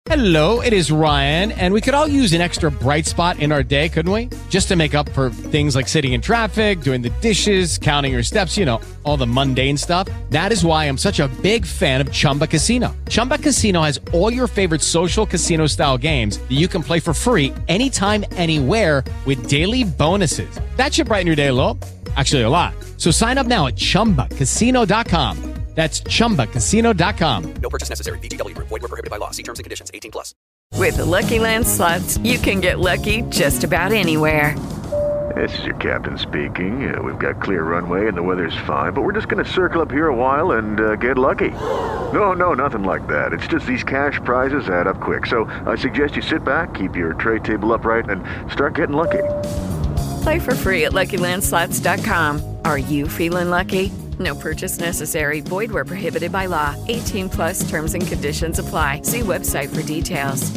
Hello, it is Ryan, and we could all use an extra bright spot in our day, couldn't we? Just to make up for things like sitting in traffic, doing the dishes, counting your steps, you know, all the mundane stuff. That is why I'm such a big fan of Chumba Casino. Chumba Casino has all your favorite social casino-style games that you can play for free anytime, anywhere with daily bonuses. That should brighten your day a little. Actually, a lot. So sign up now at ChumbaCasino.com. That's ChumbaCasino.com. No purchase necessary. VGW Group. Void where prohibited by law. See terms and conditions. 18 plus. With the Lucky Land Slots, you can get lucky just about anywhere. This is your captain speaking. We've got clear runway and the weather's fine, but we're just going to circle up here a while and get lucky. No, nothing like that. It's just these cash prizes add up quick. So I suggest you sit back, keep your tray table upright, and start getting lucky. Play for free at LuckyLandSlots.com. Are you feeling lucky? No purchase necessary. Void where prohibited by law. 18 plus terms and conditions apply. See website for details.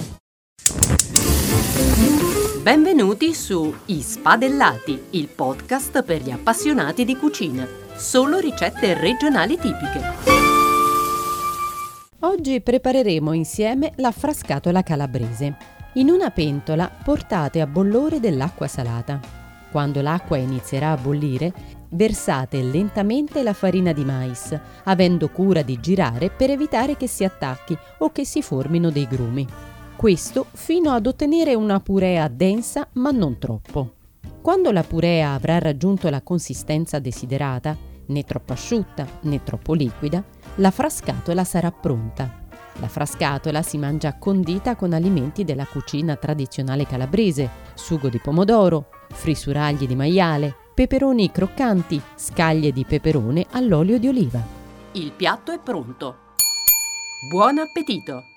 Benvenuti su I Spadellati, il podcast per gli appassionati di cucina. Solo ricette regionali tipiche. Oggi prepareremo insieme la frascatola calabrese. In una pentola portate a bollore dell'acqua salata. Quando l'acqua inizierà a bollire, versate lentamente la farina di mais, avendo cura di girare per evitare che si attacchi o che si formino dei grumi. Questo fino ad ottenere una purea densa ma non troppo. Quando la purea avrà raggiunto la consistenza desiderata, né troppo asciutta né troppo liquida, la frascatola sarà pronta. La frascatola si mangia condita con alimenti della cucina tradizionale calabrese, sugo di pomodoro, frisuragli di maiale, peperoni croccanti, scaglie di peperone all'olio di oliva. Il piatto è pronto. Buon appetito!